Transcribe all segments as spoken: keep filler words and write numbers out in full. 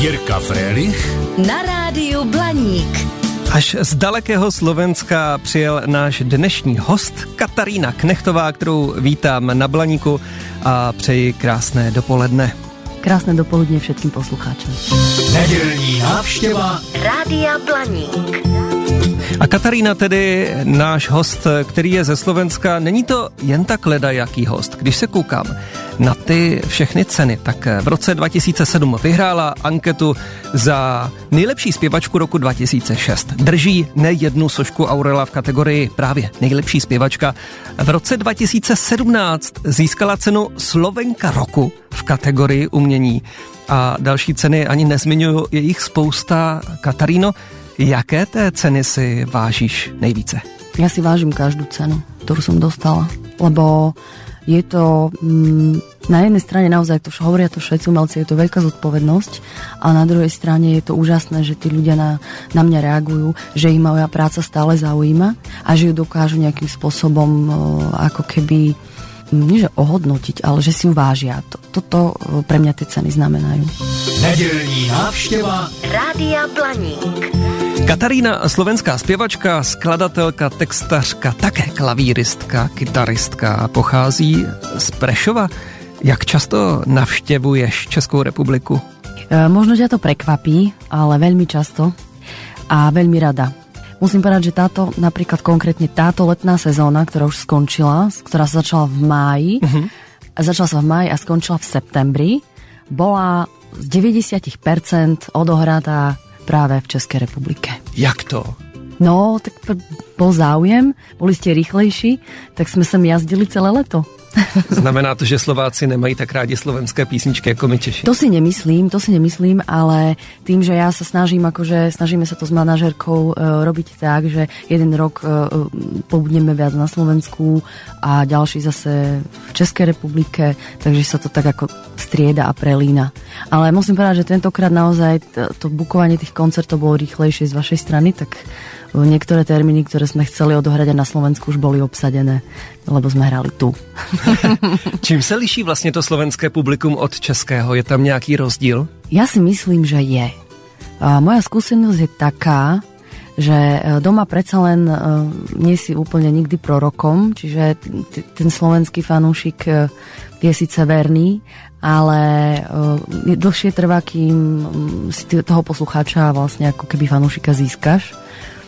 Jirka Frélich na rádiu Blaník. Až z dalekého Slovenska přijel náš dnešní host Katarína Knechtová, kterou vítám na Blaníku a přeji krásné dopoledne. Krásné dopoledne všetkým poslucháčom. Nedělní návštěva Rádia Blaník. A Katarína tedy náš host, který je ze Slovenska, není to jen tak ledajaký host. Když se koukám na ty všechny ceny, tak v roce dva tisíce sedm vyhrála anketu za nejlepší zpěvačku roku dva tisíce šest. Drží nejednu sošku Aurela v kategorii právě nejlepší zpěvačka. V roce dva tisíce sedmnáct získala cenu Slovenka roku v kategorii umění. A další ceny ani nezmiňuju, je jich spousta. Kataríno, jaké té ceny si vážíš nejvíce? Ja si vážim každú cenu, ktorú som dostala, lebo je to mm, na jednej strane naozaj, to hovoria to všetci umelci, je to veľká zodpovednosť, a na druhej strane je to úžasné, že tí ľudia na, na mňa reagujú, že ich moja práca stále zaujíma a že ju dokážu nejakým spôsobom o, ako keby nie že ohodnotiť, ale že si ju vážia. Toto pre mňa tie ceny znamenajú. Nedělní návštěva Rádia Blaník. Katarína, slovenská zpěvačka, skladatelka, textařka, také klavíristka, kytaristka, pochází z Prešova. Jak často navštěvuješ Českou republiku? E, možno ťa to prekvapí, ale veľmi často a veľmi rada. Musím povedať, že táto, napríklad konkrétne táto letná sezóna, ktorá už skončila, ktorá sa začala v máji, uh-huh. a začala sa v máji a skončila v septembri, bola z deväťdesiat percent odohratá práve v Českej republike. Jak to? No, tak bol záujem, boli ste rýchlejší, tak sme sem jazdili celé leto. Znamená to, že Slováci nemají tak rádi slovenské písničky ako my Češi? To si nemyslím, to si nemyslím, ale tým, že ja sa snažím, akože snažíme sa to s manažérkou e, robiť tak, že jeden rok e, pobudneme viac na Slovensku a ďalší zase v Českej republike, takže sa to tak ako strieda a prelína. Ale musím povedať, že tentokrát naozaj to, to bukovanie tých koncertov bolo rýchlejšie z vašej strany, tak niektoré termíny, ktoré sme chceli odohrať aj na Slovensku, už boli obsadené, lebo sme hrali tu. Čím se liší vlastně to slovenské publikum od českého? Je tam nějaký rozdíl? Ja si myslím, že je. A moja skúsenosť je taká, že doma predsa len nie si úplne nikdy prorokom, čiže t- ten slovenský fanúšik je síce verný, ale dlhšie trvá, kým si toho poslucháča vlastne ako keby fanúšika získaš.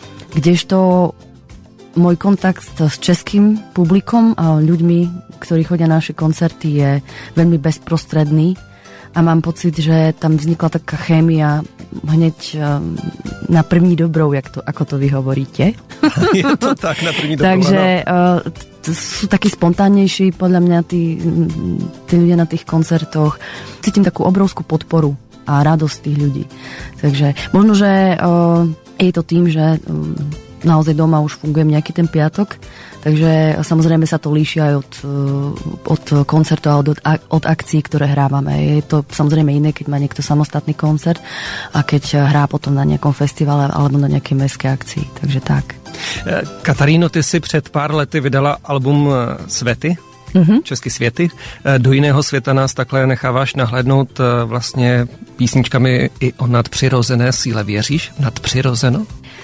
Kdežto môj kontakt s českým publikom a ľuďmi, ktorí chodia na naše koncerty, je veľmi bezprostredný a mám pocit, že tam vznikla taká chémia hneď na první dobrou, jak to, ako to vy hovoríte. Je to tak, na první dobrou. Takže uh, t- sú takí spontánnejší, podľa mňa tí, tí ľudia na tých koncertoch. Cítim takú obrovskú podporu a radosť tých ľudí. Takže možno, že uh, je to tým, že um, naozaj doma už fungujem nejaký ten piatok, takže samozrejme sa to líši aj od, od koncertov a od, od akcií, ktoré hrávame. Je to samozrejme iné, keď má niekto samostatný koncert a keď hrá potom na nejakom festivale alebo na nejakej mestskej akcii. Takže tak. Kataríno, ty si před pár lety vydala album Svety, mm-hmm. Česky světy. Do jiného světa nás takhle necháváš nahlédnout vlastně písničkami i o nadpřirozené síle. Věříš v nadpřirozeno?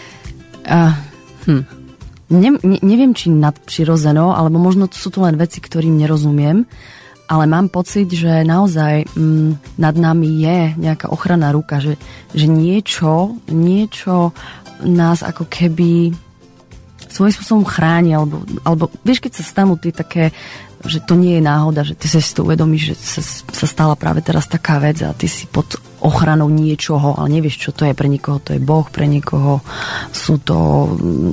Uh, hm. ne, ne, neviem, či nadpřirozeno, alebo možno to sú to len veci, ktorým nerozumiem, ale mám pocit, že naozaj mm, nad nami je nejaká ochranná ruka, že, že niečo, niečo nás ako keby svojím spôsobom chráni, alebo, alebo vieš, keď sa stanú tie také, že to nie je náhoda, že ty sa si to uvedomíš, že sa, sa stala práve teraz taká vec a ty si pod ochranou niečoho, ale nevieš, čo to je. Pre niekoho to je Boh, pre niekoho sú to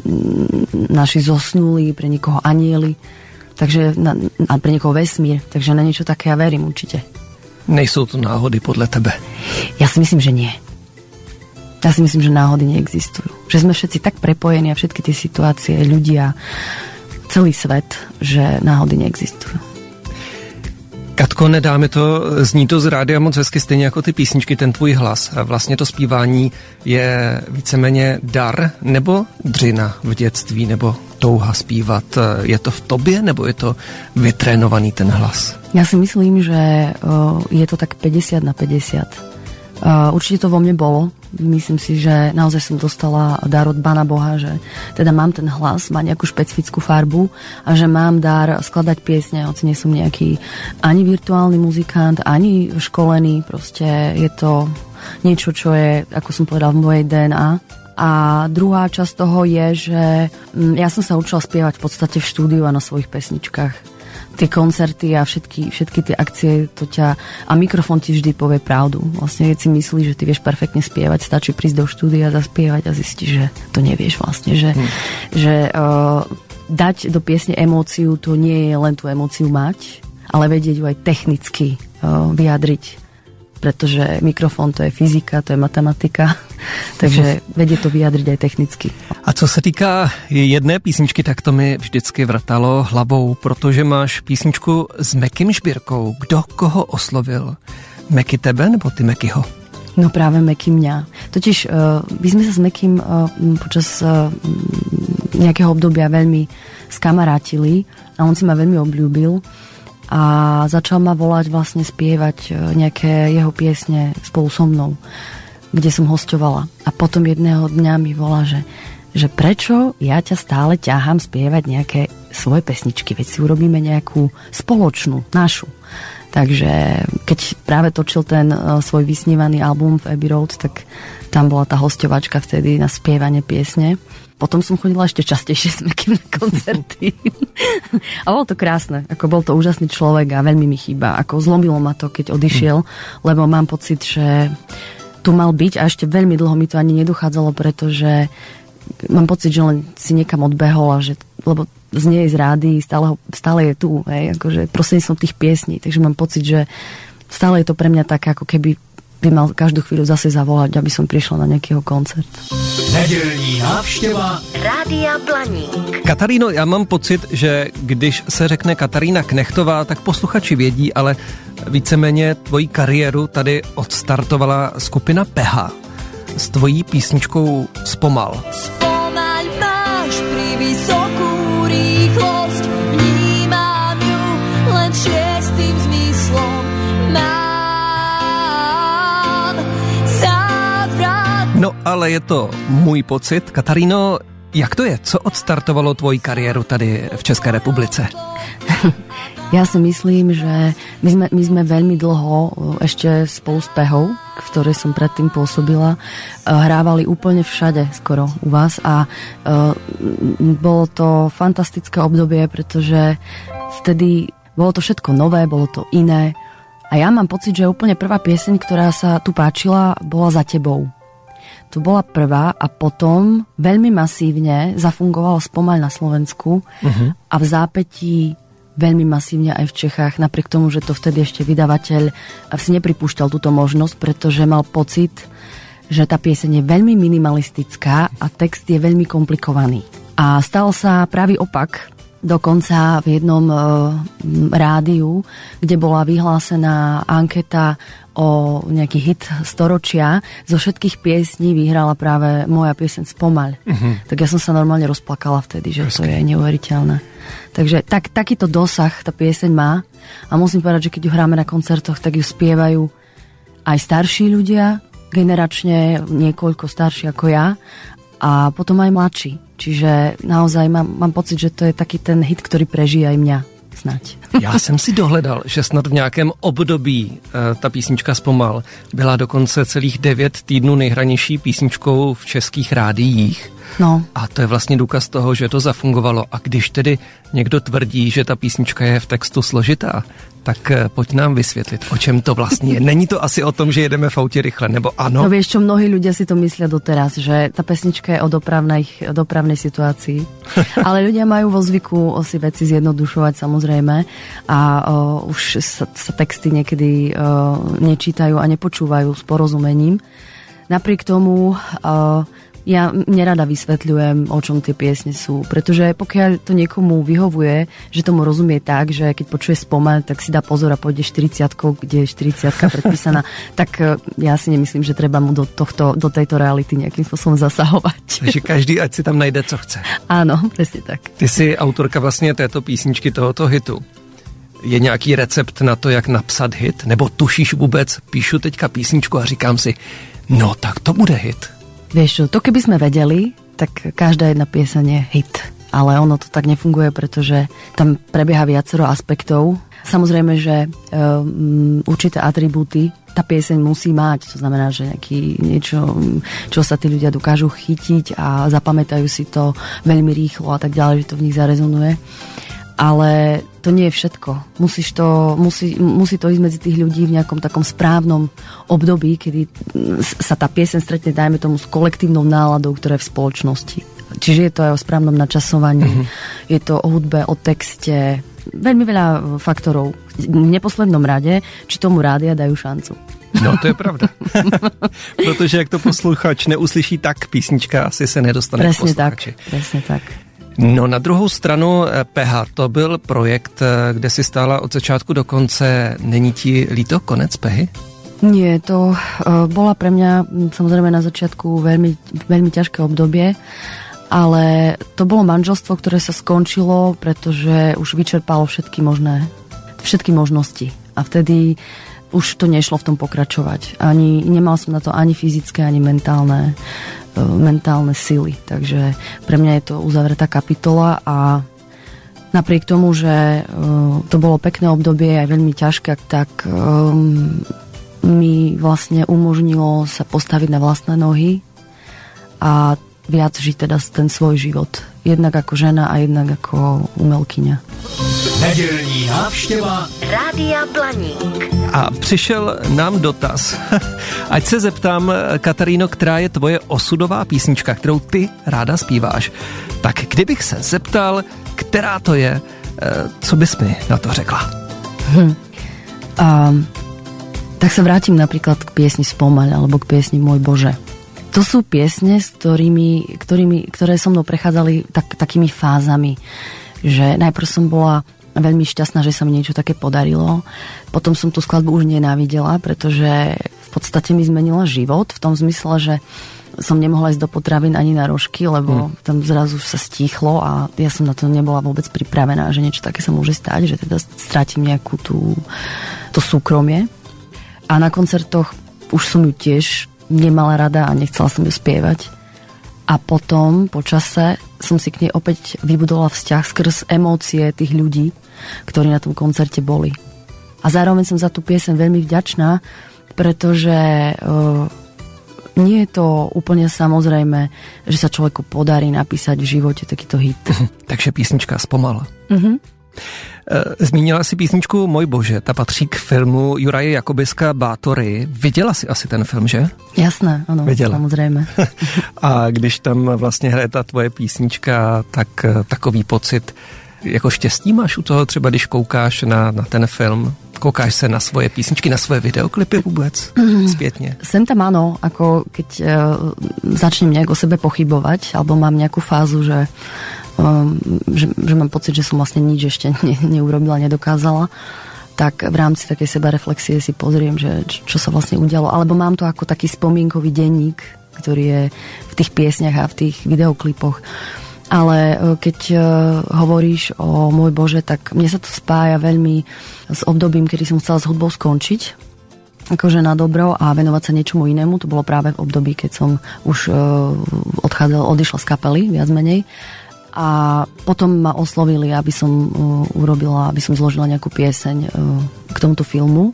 naši zosnulí, pre niekoho anjeli, takže na, a pre niekoho vesmír, takže na niečo také ja verím určite. Nejsou to náhody podľa tebe? Ja si myslím, že nie. Ja si myslím, že náhody neexistujú. Že sme všetci tak prepojení a všetky tie situácie, ľudia, celý svet, že náhody neexistujú. Katko, nedáme to, zní to z rádia moc hezky, stejně jako ty písničky, ten tvůj hlas. Vlastně to zpívání je víceméně dar nebo dřina v dětství, nebo touha zpívat. Je to v tobě, nebo je to vytrénovaný ten hlas? Ja si myslím, že je to tak päťdesiat na päťdesiat. Uh, určite to vo mne bolo. Myslím si, že naozaj som dostala dar od Pána Boha, že teda mám ten hlas, má nejakú špecifickú farbu a že mám dar skladať piesne, hoci nie som nejaký ani virtuálny muzikant, ani školený. Proste je to niečo, čo je, ako som povedal, v mojej dé en á. A druhá časť toho je, že ja som sa učila spievať v podstate v štúdiu a na svojich pesničkách. Tie koncerty a všetky, všetky tie akcie, to ťa, a mikrofón ti vždy povie pravdu. Vlastne keď si myslíš, že ty vieš perfektne spievať, stačí prísť do štúdia, zaspievať a zistíš, že to nevieš vlastne. Že, hmm. že uh, dať do piesne emóciu, to nie je len tú emóciu mať, ale vedieť ju aj technicky uh, vyjadriť. Pretože mikrofon to je fyzika, to je matematika, takže vedie to vyjadriť aj technicky. A co se týká jedné písničky, tak to mi vždycky vrtalo hlavou, protože máš písničku s Mekym Žbírkou. Kdo koho oslovil? Meky tebe nebo ty Mekyho? No práve Meky mňa. Totiž uh, my sme sa s Mekym uh, počas uh, nejakého obdobia veľmi skamarátili a on si ma veľmi obľúbil. A začal ma volať vlastne spievať nejaké jeho piesne spolu so mnou, kde som hosťovala. A potom jedného dňa mi volá, že, že prečo ja ťa stále ťahám spievať nejaké svoje pesničky, veď si urobíme nejakú spoločnú, našu. Takže keď práve točil ten uh, svoj vysnívaný album v Abbey Road, tak tam bola tá hosťovačka vtedy na spievanie piesne. Potom som chodila ešte častejšie s Mekym na koncerty. A bolo to krásne. Ako bol to úžasný človek a veľmi mi chýba. Ako zlomilo ma to, keď odišiel, lebo mám pocit, že tu mal byť a ešte veľmi dlho mi to ani nedochádzalo, pretože mám pocit, že len si niekam odbehol a že, lebo znie z rády, stále, ho, stále je tu, hej, akože prostredníctvom tých piesní. Takže mám pocit, že stále je to pre mňa také, ako keby by mal každú chvíľu zase zavolať, aby som prišla na nejakého koncert. Nedělní návštěva Rádia Blaník. Kataríno, já mám pocit, že když se řekne Katarína Knechtová, tak posluchači vědí, ale víceméně tvoji kariéru tady odstartovala skupina Peha s tvojí písničkou Zpomal. Spomaľ máš pri vysokú rýchlosť, vnímam ju len šiestým zmyslom. No, ale je to můj pocit. Kataríno, jak to je? Co odstartovalo tvoji kariéru tady v České republice? Ja si myslím, že my sme, my sme veľmi dlho ešte spolu s Pehou, v ktorej som predtým pôsobila, hrávali úplne všade skoro u vás a uh, bolo to fantastické obdobie, pretože vtedy bolo to všetko nové, bolo to iné a ja mám pocit, že úplne prvá pieseň, ktorá sa tu páčila, bola Za tebou. To bola prvá a potom veľmi masívne zafungovala Spomaľ na Slovensku uh-huh. a v zápätí veľmi masívne aj v Čechách, napriek tomu, že to vtedy ešte vydavateľ si nepripúšťal túto možnosť, pretože mal pocit, že tá pieseň je veľmi minimalistická a text je veľmi komplikovaný. A stal sa pravý opak. Dokonca v jednom e, rádiu, kde bola vyhlásená anketa o nejaký hit storočia, zo všetkých piesní vyhrala práve moja pieseň Spomaľ. Uh-huh. Tak ja som sa normálne rozplakala vtedy, že Presky. To je neuveriteľné. Takže tak, takýto dosah tá pieseň má a musím povedať, že keď ju hráme na koncertoch, tak ju spievajú aj starší ľudia, generačne niekoľko starší ako ja a potom aj mladší. Čiže naozaj mám, mám pocit, že to je taký ten hit, ktorý prežije aj mňa. Snať. Já jsem si dohledal, že snad v nějakém období e, ta písnička Zpomal byla dokonce celých devět týdnů nejhranější písničkou v českých rádiích. No. A to je vlastně důkaz toho, že to zafungovalo. A když tedy někdo tvrdí, že ta písnička je v textu složitá, tak poď nám vysvětlit, o čem to vlastně je. Není to asi o tom, že jedeme v autě rychle, nebo ano? No vieš čo, mnohí ľudia si to myslia doteraz, že tá pesnička je o dopravnej, o dopravnej situácii. Ale ľudia majú vo zvyku si veci zjednodušovať samozrejme a o, už sa, sa texty niekedy o, nečítajú a nepočúvajú s porozumením. Napriek tomu o, ja nerada vysvetľujem, o čom tie piesne sú, pretože pokiaľ to niekomu vyhovuje, že tomu rozumie tak, že keď počuje Spomaľ, tak si dá pozor a pôjde štyridsiatkou, kde je štyridsiatka predpísaná, tak ja si nemyslím, že treba mu do, tohto, do tejto reality nejakým spôsobom zasahovať. Takže každý, ať si tam najde, co chce. Áno, presne tak. Ty si autorka vlastně této písničky, tohoto hitu. Je nějaký recept na to, jak napsat hit? Nebo tušíš vůbec, píšu teďka písničku a říkám si, no tak to bude hit. Vieš čo, to keby sme vedeli, tak každá jedna pieseň je hit. Ale ono to tak nefunguje, pretože tam prebieha viacero aspektov. Samozrejme, že um, určité atribúty tá pieseň musí mať. To znamená, že nejaký, niečo, čo sa tí ľudia dokážu chytiť a zapamätajú si to veľmi rýchlo a tak ďalej, že to v nich zarezonuje. Ale to nie je všetko. Musíš to, musí, musí to ísť medzi tých ľudí v nejakom takom správnom období, kedy sa tá pieseň stretne, dajme tomu, s kolektívnou náladou, ktorá je v spoločnosti. Čiže je to aj o správnom načasovaní, mm-hmm. je to o hudbe, o texte, veľmi veľa faktorov. V neposlednom rade, či tomu rádia dajú šancu. No, to je pravda. Protože jak to posluchač neuslyší, tak písnička asi se nedostane presne k posluchači. Tak, presne tak. No na druhou stranu P H, to byl projekt, kde si stála od začátku do konce. Není ti líto konec Pehy? Nie, to uh, bola pre mňa samozrejme na začiatku veľmi, veľmi ťažké obdobie, ale to bolo manželstvo, ktoré sa skončilo, pretože už vyčerpalo všetky možné, všetky možnosti. A vtedy už to nešlo v tom pokračovať. Ani, nemal som na to ani fyzické, ani mentálne mentálne sily. Takže pre mňa je to uzavretá kapitola a napriek tomu, že uh, to bolo pekné obdobie aj veľmi ťažké, tak um, mi vlastne umožnilo sa postaviť na vlastné nohy a viac žiť teda ten svoj život. Jednak ako žena a jednak ako umelkyňa. Nedělní návštěva Rádia Blaník. A přišel nám dotaz. Ať se zeptám, Kataríno, která je tvoje osudová písnička, kterou ty ráda zpíváš. Tak kdybych se zeptal, která to je, co bys mi na to řekla? Hm. A, tak sa vrátim napríklad k piesni Spomaľ alebo k piesni Môj Bože. To sú piesne, s ktorými, ktorými, ktoré so mnou prechádzali tak, takými fázami, že najprv som bola veľmi šťastná, že sa mi niečo také podarilo. Potom som tú skladbu už nenávidela, pretože v podstate mi zmenila život v tom zmysle, že som nemohla ísť do potravín ani na rožky, lebo hmm. tam zrazu sa stíchlo a ja som na to nebola vôbec pripravená, že niečo také sa môže stať, že teda strátim nejakú tú, to súkromie. A na koncertoch už som ju tiež nemala rada a nechcela som ju spievať. A potom, po čase, som si k nej opäť vybudovala vzťah skrz emócie tých ľudí, ktorí na tom koncerte boli. A zároveň som za tú pieseň veľmi vďačná, pretože uh, nie je to úplne samozrejme, že sa človeku podarí napísať v živote takýto hit. Takže písnička Spomal. Mhm. Zmínila si písničku Můj Bože, ta patří k filmu Juraje Jakobiska Bátory. Viděla si asi ten film, že? Jasné, ano, Viděla. Samozřejmě. A když tam vlastně hraje ta tvoje písnička, tak takový pocit jako štěstí máš u toho třeba, když koukáš na, na ten film? Koukáš se na svoje písničky, na svoje videoklipy vůbec zpětně? Sem tam áno, ako keď uh, začnem nejak o sebe pochybovať, alebo mám nejakú fázu, že Um, že, že mám pocit, že som vlastne nič ešte ne, neurobila, nedokázala, tak v rámci takej sebareflexie si pozriem, že čo sa vlastne udialo. Alebo mám to ako taký spomienkový denník, ktorý je v tých piesniach a v tých videoklipoch. Ale keď uh, hovoríš o Môj Bože, tak mne sa to spája veľmi s obdobím, kedy som chcela s hudbou skončiť, akože na dobro a venovať sa niečomu inému. To bolo práve v období, keď som už uh, odchádzala, odišla z kapely, viac menej. A potom ma oslovili, aby som uh, urobila, aby som zložila nejakú pieseň uh, k tomuto filmu.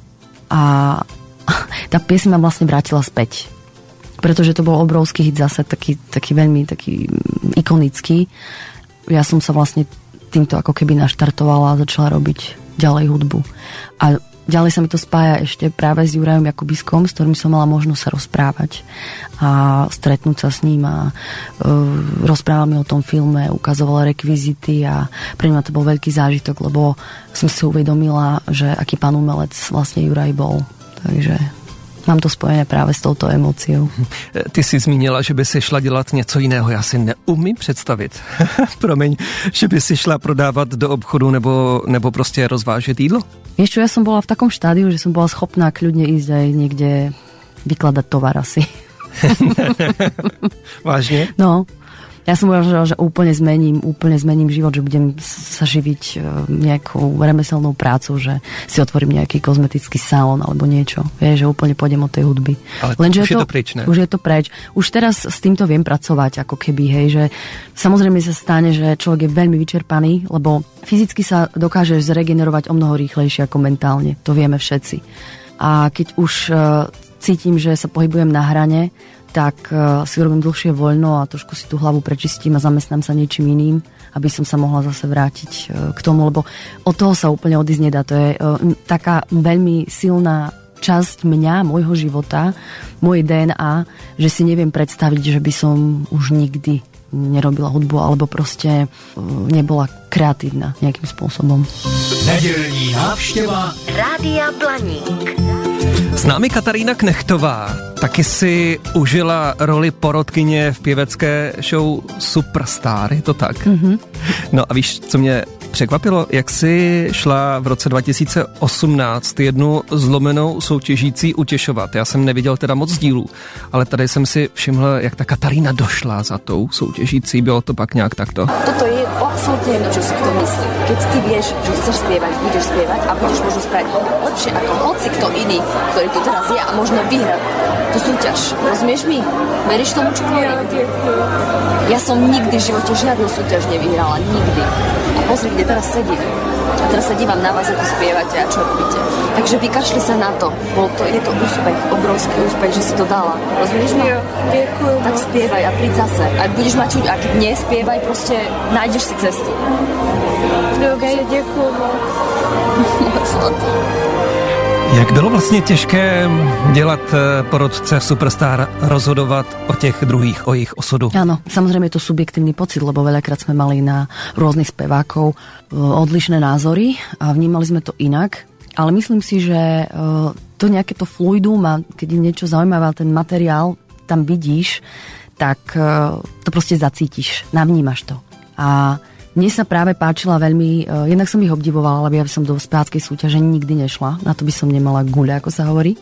A tá pieseň ma vlastne vrátila späť. Pretože to bol obrovský hit zase, taký, taký veľmi taký ikonický. Ja som sa vlastne týmto ako keby naštartovala a začala robiť ďalej hudbu. A ďalej sa mi to spája ešte práve s Jurajom Jakubiskom, s ktorým som mala možnosť sa rozprávať a stretnúť sa s ním a uh, rozprával mi o tom filme, ukazoval rekvizity a pre mňa to bol veľký zážitok, lebo som si uvedomila, že aký pán umelec vlastne Juraj bol. Takže mám to spojené právě s touto emóciou. Ty jsi zmínila, že by si šla dělat něco jiného. Já si neumím představit. Promiň, že by si šla prodávat do obchodu nebo, nebo prostě rozvážet jídlo? Vieš čo, ja som bola v takom štádiu, že som bola schopná kľudne ísť aj niekde vykladať tovar asi. Vážně? No, Ja som uvažovala, že úplne zmením, úplne zmením život, že budem sa živiť nejakou remeselnou prácou, že si otvorím nejaký kozmetický salón alebo niečo. Vieš, že úplne pôjdem od tej hudby. Ale Lenže už je to, to preč, ne? Už je to preč. Už teraz s týmto viem pracovať, ako keby, hej, že samozrejme sa stane, že človek je veľmi vyčerpaný, lebo fyzicky sa dokáže zregenerovať o mnoho rýchlejšie ako mentálne. To vieme všetci. A keď už uh, cítim, že sa pohybujem na hrane, tak uh, si urobím dlhšie voľno a trošku si tú hlavu prečistím a zamestnám sa niečím iným, aby som sa mohla zase vrátiť uh, k tomu, lebo od toho sa úplne odísť nedá. To je uh, taká veľmi silná časť mňa, môjho života, moje dé en á, že si neviem predstaviť, že by som už nikdy nerobila hudbu, alebo proste uh, nebola kreatívna nejakým spôsobom. Nedělní návštěva Rádia Blaník. S námi Katarína Knechtová. Taky si užila roli porodkyně v pěvecké show Superstar, je to tak? Mm-hmm. No a víš, co mě překvapilo? Jak jsi šla v roce dva tisíce osmnáct jednu zlomenou soutěžící utěšovat. Já jsem neviděl teda moc dílů, ale tady jsem si všiml, jak ta Katarína došla za tou soutěžící. Bylo to pak nějak takto? Toto je absolútne jedno, čo si kto myslí. Keď ty vieš, že chceš spievať, budeš spievať a budeš možno spraviť lepšie ako hoci kto iný, ktorý tu teraz je a možno vyhrať tú súťaž. Rozumieš mi? Veríš tomu, čo hovorím? Ja som nikdy v živote žiadnu súťaž nevyhrala. Nikdy. A pozri, kde teraz sedím. A teraz sa dívam na vás, ako spievate a čo robíte. Takže vykašli sa na to. Bol to, je to úspech, obrovský úspech, že si to dala. Rozumieš ma? Ďakujem. Tak spievaj a príď zase. A budeš mať čuť, a keď nespievaj, proste nájdeš si cestu. Dobre, ďakujem. Jak bylo vlastně těžké dělat porodce v Superstar, rozhodovat o těch druhých, o jejich osudu? Áno, samozrejme je to subjektívny pocit, lebo veľakrát sme mali na rôznych spevákov odlišné názory a vnímali sme to inak. Ale myslím si, že to nejaké to fluidum a keď je niečo zaujímavé, ten materiál tam vidíš, tak to proste zacítiš, navnímaš to. A mne sa práve páčila veľmi, uh, jednak som ich obdivovala, lebo ja by som do speváckej súťaže nikdy nešla, na to by som nemala guľa, ako sa hovorí.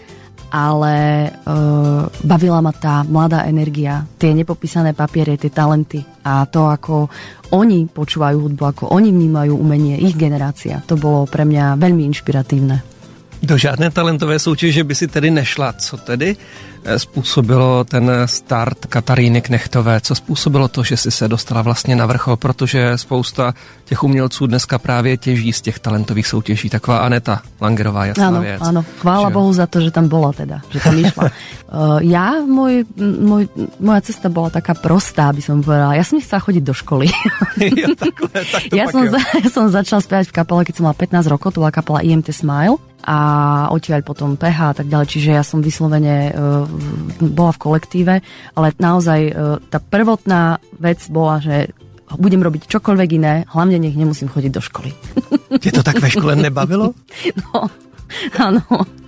Ale uh, bavila ma tá mladá energia, tie nepopísané papiere, tie talenty a to, ako oni počúvajú hudbu, ako oni vnímajú umenie, ich generácia. To bolo pre mňa veľmi inšpiratívne. Do žádné talentové soutěže by si tedy nešla. Co tedy způsobilo ten start Kataríny Knechtové? Co způsobilo to, že si se dostala vlastně na vrchol? Protože spousta těch umělců dneska právě těží z těch talentových soutěží. Taková Aneta Langerová, jasná áno, věc. Áno, chvála že... Bohu za to, že tam bola teda, že tam išla. uh, ja, môj, môj, moja cesta bola taká prostá, by som povedala. Ja som nechcela chodiť do školy. ja, takhle, tak to ja, pak som jo. za, ja som začala spievať v kapele, keď som mala pätnásť rokov, to bola kapela í em té Smile a odtiaľ potom pé há a tak ďalej, čiže ja som vyslovene uh, bola v kolektíve, ale naozaj uh, tá prvotná vec bola, že budem robiť čokoľvek iné, hlavne nech nemusím chodiť do školy. Tě to tak ve škole nebavilo? No, áno.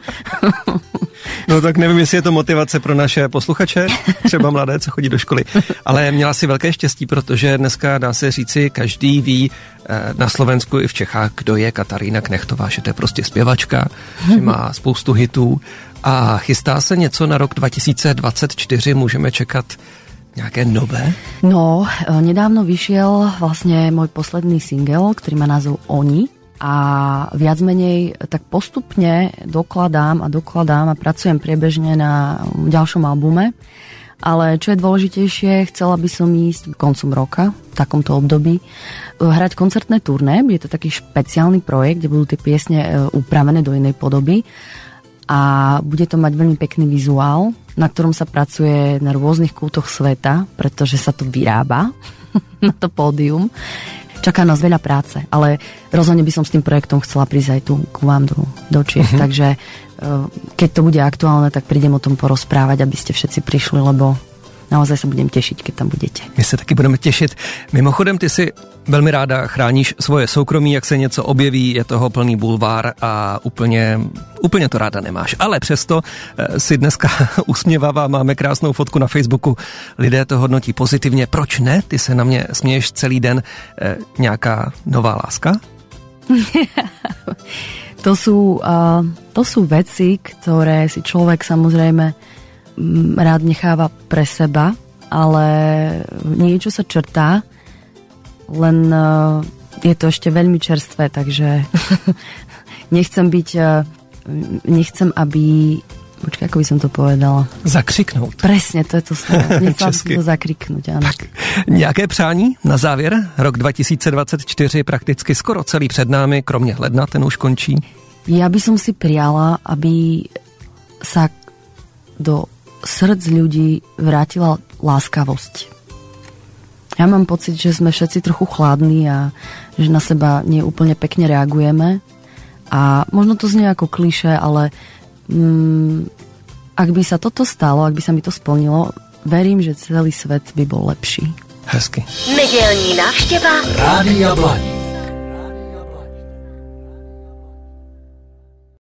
No tak nevím, jestli je to motivace pro naše posluchače, třeba mladé, co chodí do školy. Ale měla si velké štěstí, protože dneska dá se říci, každý ví na Slovensku i v Čechách, kdo je Katarína Knechtová, že to je prostě zpěvačka, že má spoustu hitů a chystá se něco na rok dva tisíce dvacet čtyři, můžeme čekat nějaké nové? No, nedávno vyšiel vlastne môj posledný single, ktorý má názov Oni. A viac menej tak postupne dokladám a dokladám a pracujem priebežne na ďalšom albume. Ale čo je dôležitejšie, chcela by som ísť koncom roka, v takomto období, hrať koncertné turné. Je to taký špeciálny projekt, kde budú tie piesne upravené do inej podoby. A bude to mať veľmi pekný vizuál, na ktorom sa pracuje na rôznych kútoch sveta, pretože sa to vyrába na to pódium. Čaká nás veľa práce, ale rozhodne by som s tým projektom chcela prísť aj tu k vám do, do Čiech. Mm-hmm. Takže keď to bude aktuálne, tak prídem o tom porozprávať, aby ste všetci prišli, lebo naozaj sa budem tešiť, keď tam budete. My se taky budeme těšit. Mimochodem, ty si velmi ráda chráníš svoje soukromí, jak se něco objeví, je toho plný bulvár a úplně, úplně to ráda nemáš. Ale přesto si dneska usměvavá, máme krásnou fotku na Facebooku, lidé to hodnotí pozitivně. Proč ne? Ty se na mě směješ celý den. E, nějaká nová láska? to, sú, uh, to sú veci, ktoré si človek samozrejme rád necháva pre seba, ale niečo sa črtá, len uh, je to ešte veľmi čerstvé, takže nechcem byť, uh, nechcem, aby... Počkaj, ako by som to povedala? Zakřiknout. Presne, to je to slovo. Nechcem si to zakriknúť, áno. Tak, nějaké přání na závěr? Rok dva tisíce dvacet čtyři prakticky skoro celý před námi, kromě ledna, ten už končí. Ja by som si priala, aby sa do srdc ľudí vrátila láskavosť. Ja mám pocit, že sme všetci trochu chladní a že na seba nie úplne pekne reagujeme. A možno to znie ako klišé, ale mm, ak by sa toto stalo, ak by sa mi to splnilo, verím, že celý svet by bol lepší. Hezky. Nedělní návštěva Rádia Blaník.